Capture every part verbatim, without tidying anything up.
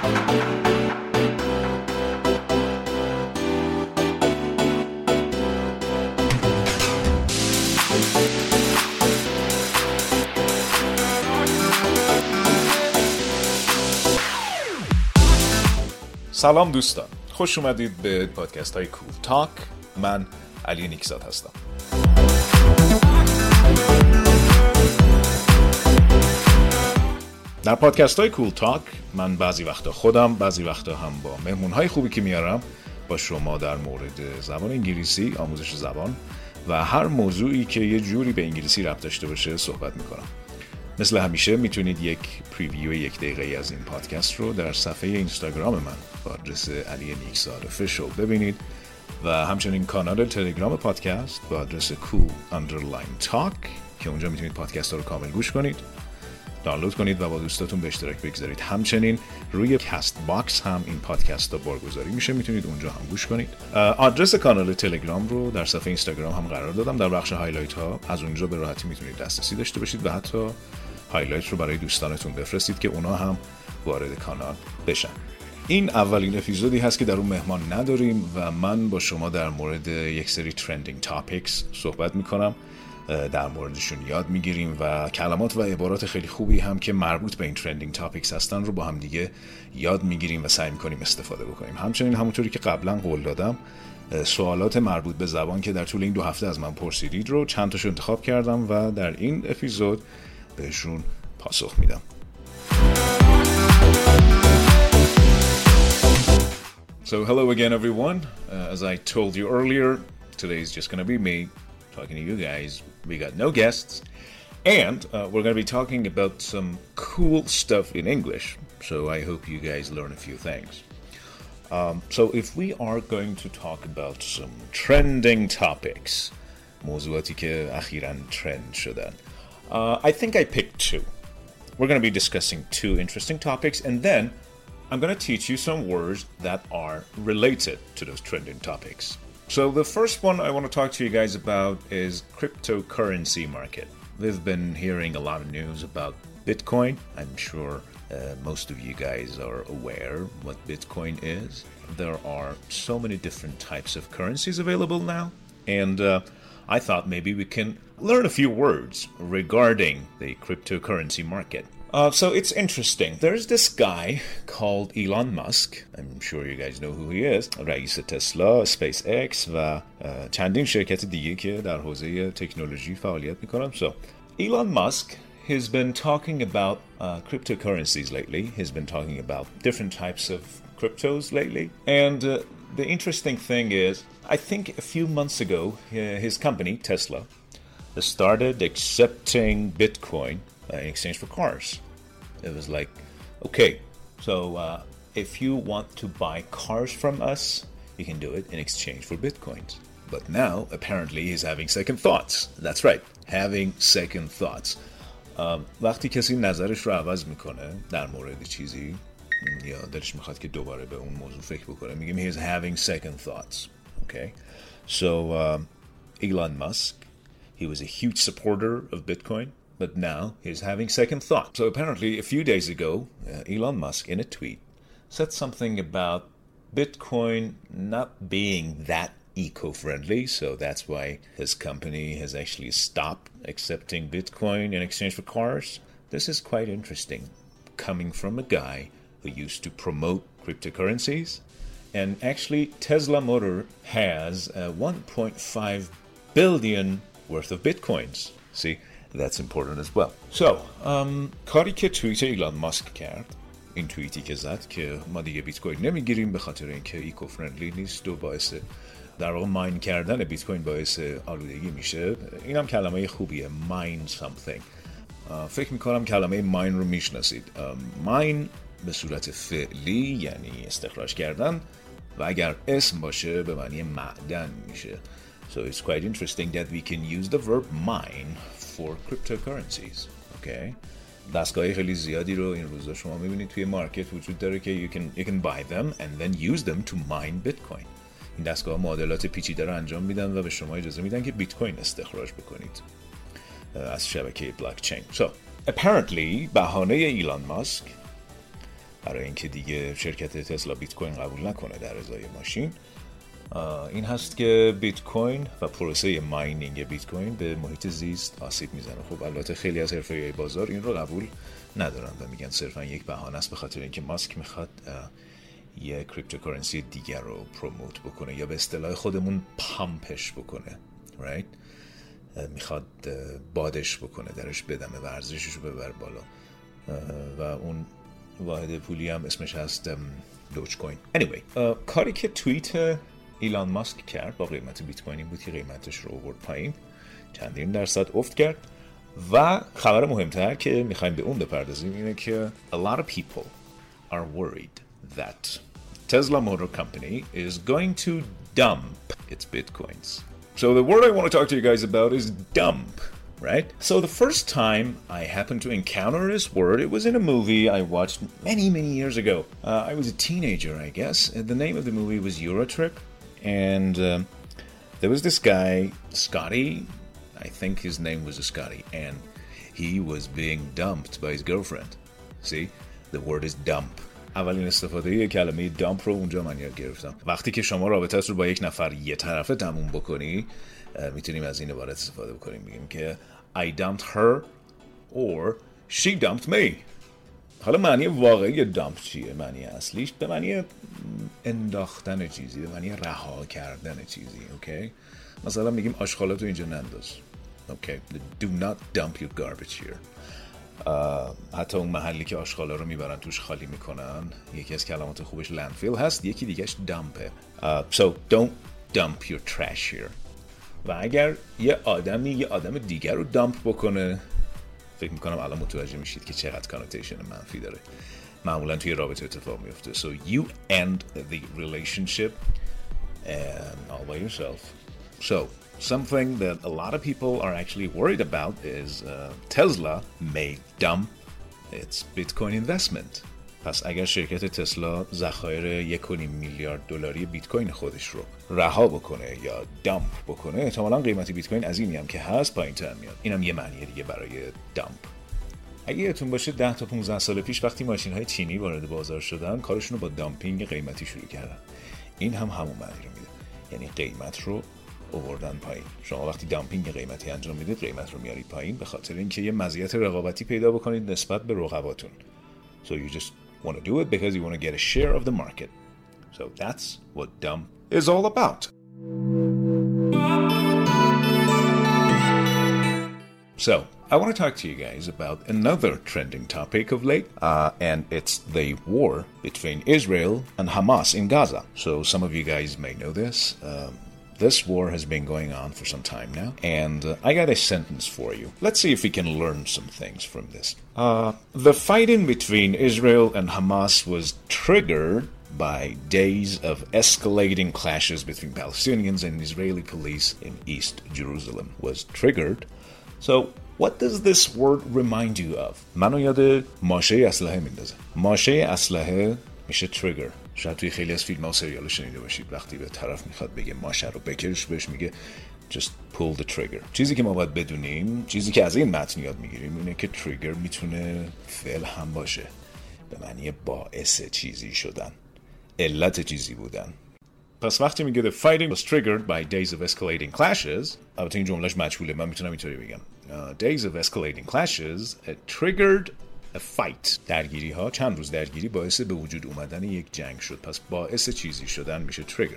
سلام دوستان، خوش اومدید به پادکست های کول تاک. من علی نیکزاد هستم. در پادکست های کول تاک من بعضی وقتا خودم، بعضی وقتا هم با مهمون های خوبی که میارم با شما در مورد زبان انگلیسی، آموزش زبان و هر موضوعی که یه جوری به انگلیسی ربط داشته باشه صحبت میکنم. مثل همیشه میتونید یک پریویو یک دقیقه‌ای از این پادکست رو در صفحه اینستاگرام من با آدرس علی نیکزاد official ببینید و همچنین کانال تلگرام پادکست با آدرس cool underline talk که اونجا میتونید پادکست ها رو کامل گوش کنید، دانلود کنید و با دوستاتون به اشتراک بگذارید. همچنین روی کست باکس هم این پادکست ها بارگذاری میشه، میتونید اونجا هم گوش کنید. آدرس کانال تلگرام رو در صفحه اینستاگرام هم قرار دادم، در بخش هایلایت ها از اونجا به راحتی میتونید دسترسی داشته باشید و حتی هایلایت رو برای دوستانتون بفرستید که اونا هم وارد کانال بشن. این اولین اپیزودی هست که در اون مهمان نداریم و من با شما در مورد یک سری ترندینگ تاپیکس صحبت میکنم، در موردشون یاد میگیریم و کلمات و عبارات خیلی خوبی هم که مربوط به این ترندینگ تاپیکس هستن رو با هم دیگه یاد میگیریم و سعی میکنیم استفاده بکنیم. همچنین همونطوری که قبلا قول دادم سوالات مربوط به زبان که در طول این دو هفته از من پرسیدید رو چند تاشو انتخاب کردم و در این اپیزود بهشون پاسخ میدم. So hello again everyone. Uh, as I told you earlier, today is just going to be me talking to you guys. We got no guests and uh, we're going to be talking about some cool stuff in English. So I hope you guys learn a few things. Um, so if we are going to talk about some trending topics, موضوعاتی که اخیراً trend شدن, uh, I think I picked two. We're going to be discussing two interesting topics and then I'm going to teach you some words that are related to those trending topics. So the first one I want to talk to you guys about is cryptocurrency market. We've been hearing a lot of news about Bitcoin. I'm sure uh, most of you guys are aware what Bitcoin is. There are so many different types of currencies available now. And uh, I thought maybe we can learn a few words regarding the cryptocurrency market. Uh, so it's interesting. There's this guy called Elon Musk. I'm sure you guys know who he is. رئیس تسلا، SpaceX و چندین شرکت دیگه که در حوزه تکنولوژی فعالیت میکنن. So Elon Musk has been talking about uh, cryptocurrencies lately. He's been talking about different types of cryptos lately. And uh, the interesting thing is, I think a few months ago, uh, his company, Tesla, started accepting Bitcoin uh, in exchange for cars. It was like, okay, so uh, if you want to buy cars from us, you can do it in exchange for Bitcoins. But now, apparently, he's having second thoughts. That's right, having second thoughts. Um, وقتی کسی نظرش رو عوض میکنه در مورد چیزی یا دلش میخواد که دوباره به اون موضوع فکر بکنه میگیم he's having second thoughts. Okay, so um, Elon Musk, he was a huge supporter of Bitcoin, but now he's having second thought. So apparently a few days ago, uh, Elon Musk in a tweet said something about Bitcoin not being that eco-friendly, so that's why his company has actually stopped accepting Bitcoin in exchange for cars. This is quite interesting, coming from a guy who used to promote cryptocurrencies. And actually, Tesla Motor has uh, one point five billion worth of Bitcoins. See, that's important as well. So, um, کاری که توییت ایلان ماسک کرد، این توییتی که زد که ما دیگه بیت کوین نمیگیریم به خاطر اینکه ایکو فرندلی نیست و باعث در واقع ماین کردن بیت کوین باعث آلودگی میشه. اینم کلمه خوبیه، mine something. فکر میکنم کلمه mine رو میشناسید. mine به صورت فعلی یعنی استخراج کردن و اگر اسم باشه به معنی معدن میشه. So it's quite interesting that we can use the verb mine for cryptocurrencies. Okay? دستگاه خیلی زیادی رو این روزا شما میبینید توی مارکت وجود داره که you can, you can buy them and then use them to mine Bitcoin. این دستگاه معادلات پیچیده رو انجام میدن و به شما اجازه میدن که بیت کوین استخراج بکنید از شبکه بلاک چین. So apparently بهانه ایلان ماسک برای اینکه دیگه شرکت تسلا بیت کوین قبول نکنه در ازای ماشین. این هست که بیت کوین و پروسه ماینینگ بیت کوین به محیط زیست آسیب میزنه. خب البته خیلی از حرفه‌های بازار این رو قبول ندارن و میگن صرفا یک بهانه است، به خاطر اینکه ماسک میخواد یک کریپتوکارنسی دیگر رو پروموت بکنه یا به اصطلاح خودمون پامپش بکنه، right؟ میخواد بادش بکنه، درش بدمه، ورزشش رو ببر بالا و اون واحد پولی هم اسمش هست دوج کوین. anyway کاری که توییت ایلان ماسک کرد با قیمت بیت کوین این بود که قیمتش رو آورد پایین، چندین درصد افت کرد. و خبر مهمتر که میخوایم به اون بپردازیم اینه که a lot of people are worried that Tesla Motor Company is going to dump its bitcoins. So the word I want to talk to you guys about is dump, right? So the first time I happened to encounter this word, it was in a movie I watched many, many years ago. Uh, I was a teenager, I guess. And the name of the movie was Eurotrip. And um, there was this guy, Scotty, I think his name was Scotty, and he was being dumped by his girlfriend. See, the word is dump. اولین استفاده یه کلمه دامپ رو اونجا من یاد گرفتم. وقتی که شما رابطت رو با یک نفر یه طرفه تموم بکنی، میتونیم از این عبارت استفاده بکنیم، میگیم که I dumped her or she dumped me. حالا معنی واقعی دامپ چیه؟ معنی اصلیش به معنی انداختن چیزی، به معنی رها کردن چیزی. اوکی؟ مثلا میگیم آشغالاتو اینجا ننداز. اوکی؟ Do not dump your garbage here. حتی اون محلی که آشغالا رو میبرن توش خالی میکنن، یکی از کلمات خوبش landfill هست، یکی دیگهش دامپه. uh, So don't dump your trash here. و اگر یه آدمی یه آدم دیگر رو دامپ بکنه، فکر میکنم الان متوجه میشید که چقدر کانوتیشن منفی داره. معمولا توی رابطه اتفاق میفته. So you end the relationship and all by yourself. So something that a lot of people are actually worried about is uh, Tesla may dump its Bitcoin investment. پس اگر شرکت تسلا ذخایر یک و نیم میلیارد دلاری بیت کوین خودش رو رها بکنه یا دامپ بکنه، احتمالاً قیمت بیت کوین از اینی هم که هست پایین‌تر میاد. اینم یه معنی دیگه برای دامپ. اگه یادتون باشه ده تا پانزده سال پیش وقتی ماشین‌های چینی وارد بازار شدن، کارشون رو با دامپینگ قیمتی شروع کردن. این هم همون معنی رو میده، یعنی قیمت رو آوردن پایین. شما وقتی دامپینگ قیمتی انجام میدید، قیمت رو میارید پایین به خاطر اینکه یه مزیت رقابتی پیدا بکنید نسبت به رقباتون. So you just want to do it because you want to get a share of the market. So that's what dump is all about. So I want to talk to you guys about another trending topic of late, uh, and it's the war between Israel and Hamas in Gaza. So some of you guys may know this. Um, This war has been going on for some time now, and uh, I got a sentence for you. Let's see if we can learn some things from this. Uh, the fighting between Israel and Hamas was triggered by days of escalating clashes between Palestinians and Israeli police in East Jerusalem. Was triggered. So what does this word remind you of? منو یاد ماشه اسلحه میندازه. ماشه اسلحه میشه trigger. شاید توی خیلی از فیلم ها و سریال شنیده باشید وقتی به طرف میخواد بگه ماشه رو بکش، بهش میگه just pull the trigger. چیزی که ما باید بدونیم، چیزی که از این متن یاد میگیریم اینه که تریگر میتونه فعل هم باشه، به معنی باعث چیزی شدن، علت چیزی بودن. پس وقتی میگه the fighting was triggered by days of escalating clashes، البته این جملهش مجهوله، من میتونم اینطوری بگم uh, days of escalating clashes it triggered a fight. درگیری ها، چند روز درگیری باعث به وجود اومدن یک جنگ شد. پس باعث چیزی شدن میشه تریگر.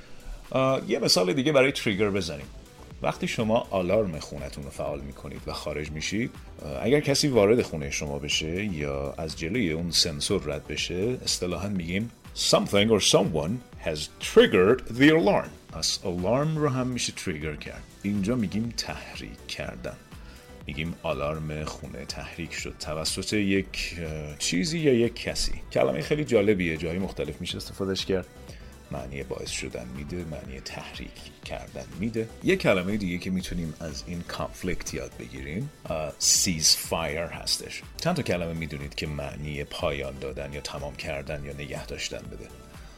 یه مثال دیگه برای تریگر بزنیم. وقتی شما آلارم خونتون رو فعال میکنید و خارج میشید، اگر کسی وارد خونه شما بشه یا از جلوی اون سنسور رد بشه، اصطلاحاً میگیم something or someone has triggered the alarm. پس آلارم رو هم میشه تریگر کرد. اینجا میگیم تحریک کردن. میگیم آلارم خونه تحریک شد توسط یک چیزی یا یک کسی. کلمه خیلی جالبیه، جایی مختلف میشه استفادهش کرد. معنی باعث شدن میده، معنی تحریک کردن میده. یک کلمه دیگه که میتونیم از این کانفلیکت یاد بگیریم سیز فایر هستش. چند تا کلمه میدونید که معنی پایان دادن یا تمام کردن یا نگه داشتن بده.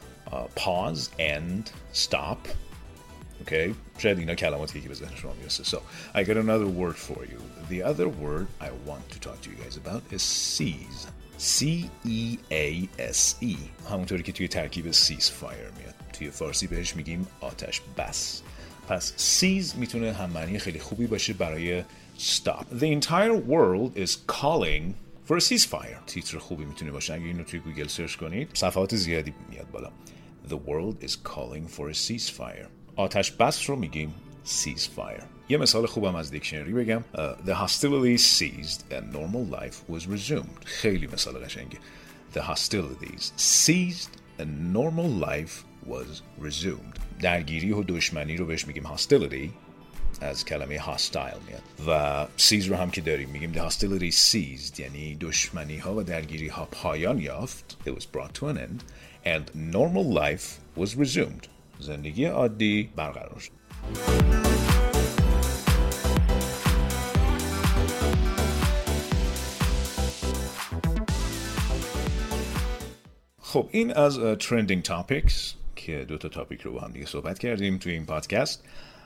pause, end, stop. Okay, شاید اینا کلماتی که به ذهن شما میرسه. So, I got another word for you. The other word I want to talk to you guys about is seize. C E A S E، همونطوری که توی ترکیب ceasefire میاد. توی فارسی بهش میگیم آتش بس. پس seize میتونه هم معنی خیلی خوبی باشه برای stop. The entire world is calling for a ceasefire. تیتر خوبی میتونه باشه. اگه اینو توی گوگل سرچ کنید صفحات زیادی میاد بالا. The world is calling for a ceasefire. آتش بس رو میگیم ceasefire. یه مثال خوبم از دیکشنری بگم. uh, The hostilities ceased and normal life was resumed. خیلی مثال قشنگه. The hostilities ceased and normal life was resumed. درگیری و دشمنی رو بهش میگیم hostility، از کلمه hostile میاد. و cease رو هم که داریم میگیم the hostility ceased، یعنی دشمنی ها و درگیری ها پایان یافت. It was brought to an end and normal life was resumed. زندگی عادی برقرار شد. خب این از trending topics که دو تا تاپیک رو با هم دیگه صحبت کردیم توی این پادکست.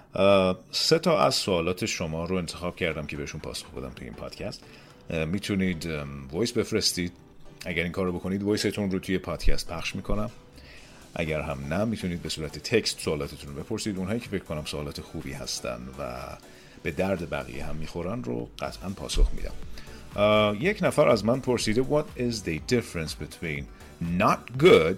سه تا از سوالات شما رو انتخاب کردم که بهشون پاسخ بدم توی این پادکست. میتونید وایس بفرستید. اگر این کار رو بکنید وایستون رو توی پادکست پخش میکنم. اگر هم نه میتونید به صورت تکست سوالاتتون رو بپرسید. اونهایی که فکر کنم سوالات خوبی هستن و به درد بقیه هم میخورن رو قطعا پاسخ میدم. uh, یک نفر از من پرسیده What is the difference between not good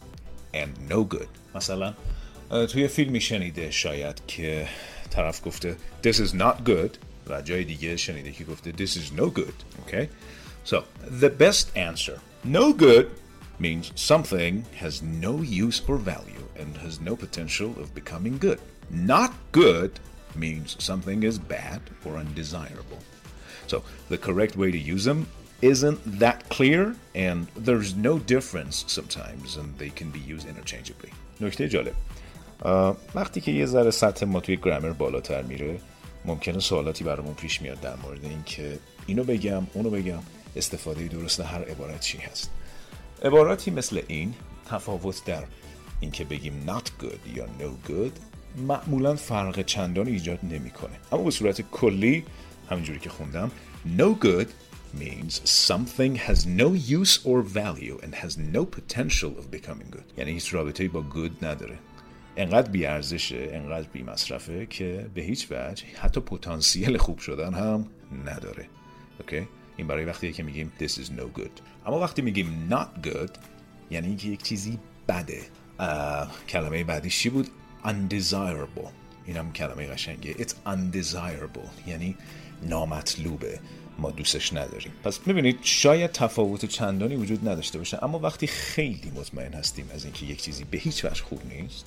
and no good؟ مثلا توی فیلمی شنیده شاید که طرف گفته This is not good و جای دیگه شنیده که گفته This is no good. Okay? So, the best answer. No good means something has no use or value and has no potential of becoming good. Not good means something is bad or undesirable. So, the correct way to use them isn't that clear and there's no difference sometimes and they can be used interchangeably. نکته جالب. وقتی که یه ذره سطح ما توی گرامر بالاتر میره ممکنه سوالاتی برامون پیش میاد در مورد این که اینو بگم اونو بگم، استفاده درست هر عبارت چی هست. عباراتی مثل این تفاوت در این که بگیم not good یا no good معمولا فرق چندان ایجاد نمیکنه، اما به صورت کلی همینجوری که خوندم no good means something has no use or value and has no potential of becoming good. یعنی هیچ رابطه‌ای با good نداره، انقدر بی ارزشه، انقدر بی مصرفه که به هیچ وجه حتی پتانسیل خوب شدن هم نداره. اوکی؟ این برای وقتیه که میگیم this is no good. اما وقتی میگیم not good یعنی اینکه یک چیزی بده. کلمه بعدیش چی بود؟ undesirable. اینم کلمه قشنگه. It's undesirable یعنی نامطلوبه، ما دوستش نداریم. پس میبینید شاید تفاوت چندانی وجود نداشته باشه، اما وقتی خیلی مطمئن هستیم از اینکه یک چیزی به هیچ وجه خوب نیست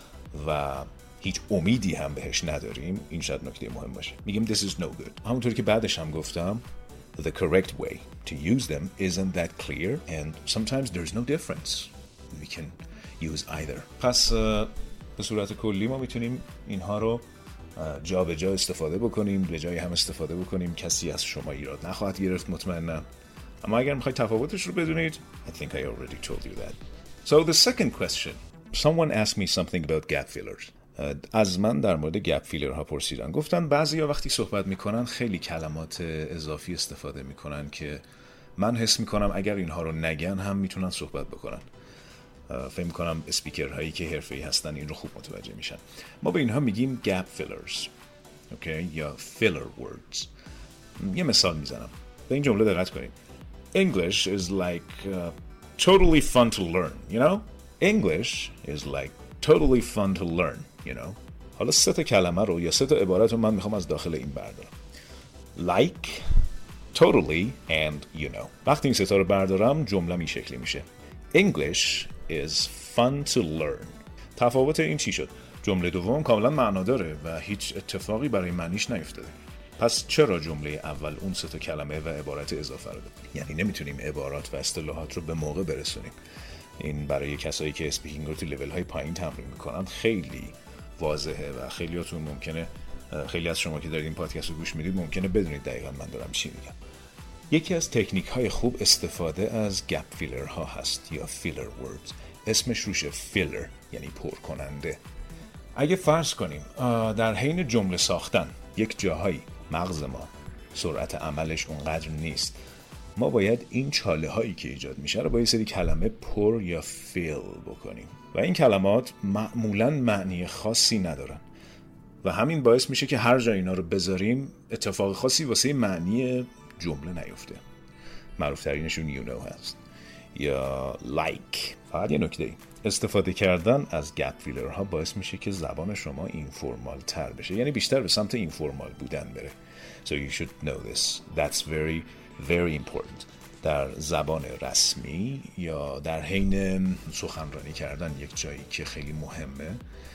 و هیچ امیدی هم بهش نداریم، این شاید نکته مهم باشه. میگیم this is no good. همونطوری که بعدش هم گفتم the correct way to use them isn't that clear and sometimes there's no difference. We can use either. پس به صورت کلی ما میتونیم اینها رو جا به جا استفاده بکنیم، به جای هم استفاده بکنیم. کسی از شما ایراد نخواهد گرفت مطمئنم. اما اگر میخواید تفاوتش رو بدونید I think I already told you that. So the second question. Someone asked me something about gap fillers. از من در مورد گپ فیلر ها پرسیدن. گفتن بعضیا وقتی صحبت میکنن خیلی کلمات اضافی استفاده میکنن که من حس میکنم اگر اینها رو نگن هم میتونن صحبت بکنن. فکر میکنم اسپیکر هایی که حرفه‌ای هستن این رو خوب متوجه میشن. ما به اینها میگیم گپ فیلرز. اوکی؟ یا فیلر وردز. یه مثال میزنم. به این جمله دقت کنید. English is like uh, totally fun to learn, you know? English is like totally fun to learn, you know. حالا سه تا کلمه رو یا سه تا عبارت رو من میخوام از داخل این بردارم. Like, totally and you know. وقتی این سه تا رو بردارم جمله این شکلی میشه. English is fun to learn. تفاوت این چی شد؟ جمله دوم کاملا معنا داره و هیچ اتفاقی برای معنیش نیفتاده. پس چرا جمله اول اون سه تا کلمه و عبارت اضافه رو داد؟ یعنی نمیتونیم عبارات و اصطلاحات رو به موقع برسونیم. این برای کسایی که اسپیکینگ رو تو لول های پایین تمرین میکنن خیلی واضحه و خیلیاتون ممکنه، خیلی از شما که دارید این پادکست رو گوش میدید ممکنه بدونید دقیقاً من دارم چی میگم. یکی از تکنیک های خوب استفاده از گپ فیلر ها هست یا فیلر وردز. اسمش روشه فیلر، یعنی پر کننده. اگه فرض کنیم در حین جمله ساختن یک جاهایی مغز ما سرعت عملش اونقدر نیست ما باید این چاله هایی که ایجاد میشه رو با یه سری کلمه پر یا فیل بکنیم و این کلمات معمولاً معنی خاصی ندارن و همین باعث میشه که هر جا اینا رو بذاریم اتفاق خاصی واسه معنی جمله نیفته. معروف ترینشون you know هست یا like. فقط یه نکته، استفاده کردن از گپ فیلرها باعث میشه که زبان شما اینفورمال تر بشه، یعنی بیشتر به سمت اینفورمال بودن بره. So you should know this. That's very very important. در زبان رسمی یا در حین سخنرانی کردن یک جایی که خیلی مهمه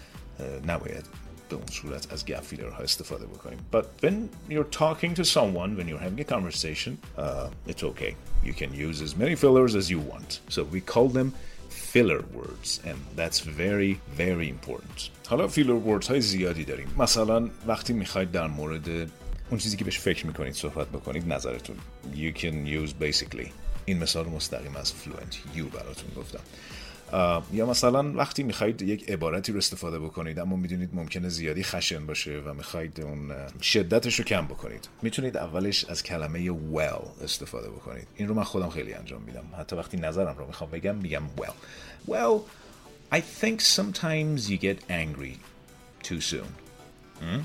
نباید به اون صورت از گپ فیلرها استفاده بکنیم. But when you're talking to someone, when you're having a conversation, uh, it's okay. You can use as many fillers as you want. So we call them filler words and that's very very important. حالا filler words های زیادی داریم. مثلا وقتی میخواید در مورد اون چیزی که بهش فکر میکنید صحبت بکنید نظرتون. You can use basically. این مثال مستقیم از fluent you براتون گفتم. یا مثلا وقتی میخواید یک عبارتی رو استفاده بکنید اما میدونید ممکنه زیادی خشن باشه و میخواید اون شدتش رو کم بکنید، میتونید اولش از کلمه well استفاده بکنید. این رو من خودم خیلی انجام میدم. حتی وقتی نظرم رو میخوام بگم میگم well. Well, I think sometimes you get angry too soon. Hmm?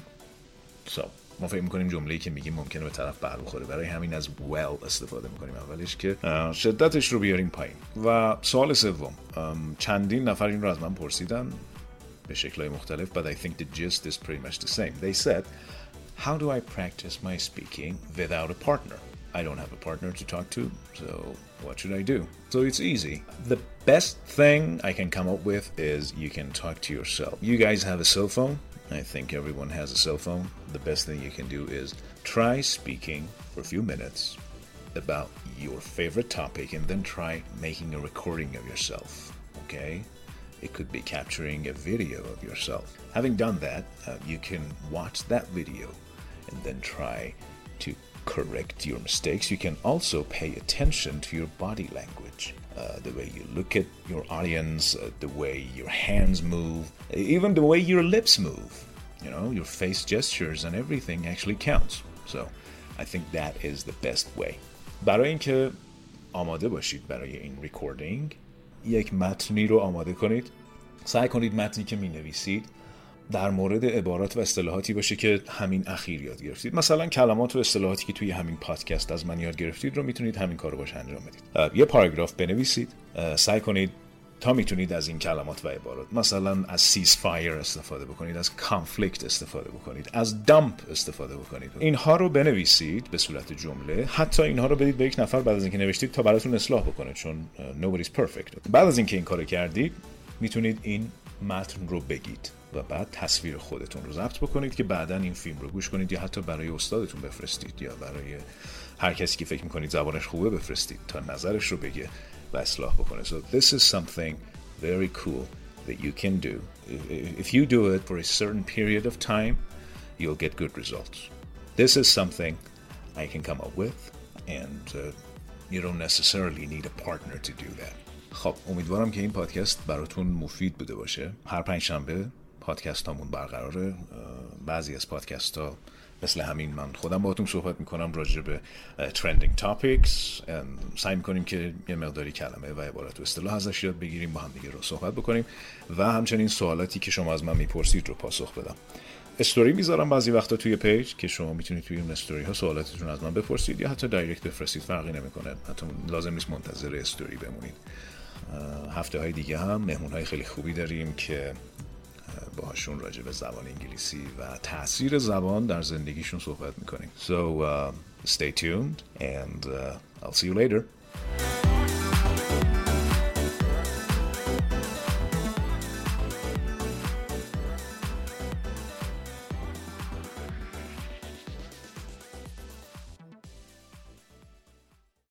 So ما فکر میکنیم جمله‌ای که میگیم ممکنه به طرف بر بخوره، برای همین از well استفاده میکنیم اولش که شدتش رو بیاریم پایین. و سوال سوم، چندین نفر این رو از من پرسیدن به شکل‌های مختلف but I think the gist is pretty much the same. They said, how do I practice my speaking without a partner? I don't have a partner to talk to, so what should I do? So it's easy. The best thing I can come up with is you can talk to yourself. You guys have a cell phone? I think everyone has a cell phone. The best thing you can do is try speaking for a few minutes about your favorite topic and then try making a recording of yourself, okay? It could be capturing a video of yourself. Having done that, uh, you can watch that video and then try to correct your mistakes. You can also pay attention to your body language. Uh, the way you look at your audience, uh, the way your hands move, even the way your lips move. You know, your face gestures and everything actually counts. So, I think that is the best way. برای اینکه آماده باشید برای این ریکوردینگ، یک متنی رو آماده کنید. سعی کنید متنی که می‌نویسید در مورد عبارات و اصطلاحاتی باشه که همین اخیر یاد گرفتید. مثلا کلمات و اصطلاحاتی که توی همین پادکست از من یاد گرفتید رو میتونید همین کارو باش انجام بدید. یه پاراگراف بنویسید. سعی کنید تا میتونید از این کلمات و عبارات، مثلا از سیزفایر استفاده بکنید، از کانفلیکت استفاده بکنید، از دامپ استفاده بکنید. اینها رو بنویسید به صورت جمله. حتی اینها رو بدید به یک نفر بعد از اینکه نوشتید تا براتون اصلاح بکنه، چون nobody's perfect. بعد از اینکه این کارو کردید میتونید این متن رو بگید و بعد تصویر خودتون رو ضبط بکنید که بعداً این فیلم رو گوش کنید یا حتی برای استادتون بفرستید یا برای هر کسی که فکر میکنید زبانش خوبه بفرستید تا نظرش رو بگه و اصلاح بکنه. So this is something very cool that you can do. If you do it for a certain period of time, you'll get good results. This is something I can come up with and uh, you don't necessarily need a partner to do that. خب امیدوارم که این پادکست براتون مفید بوده باشه. هر پنج شنبه پادکست هامون برقراره. بعضی از پادکست ها مثل همین من خودم باهاتون صحبت میکنم راجع به trending topics. سعی میکنیم که یه مقداری کلمه و عبارت و اصطلاح ازش یاد بگیریم، با هم دیگه رو صحبت بکنیم و همچنین سوالاتی که شما از من میپرسید رو پاسخ بدم. استوری میذارم بعضی وقتا توی پیج که شما میتونید توی اون استوری ها سوالاتتون از من بپرسید یا حتی دایرکت بفرستید، فرقی نمیکنه. حتی لازم نیست منتظر استوری بمونید. هفته های دیگه هم مهمون های خیلی خوبی داریم که باهاشون راجع به زبان انگلیسی و تاثیر زبان در زندگیشون صحبت میکنیم. So uh, stay tuned and uh, I'll see you later.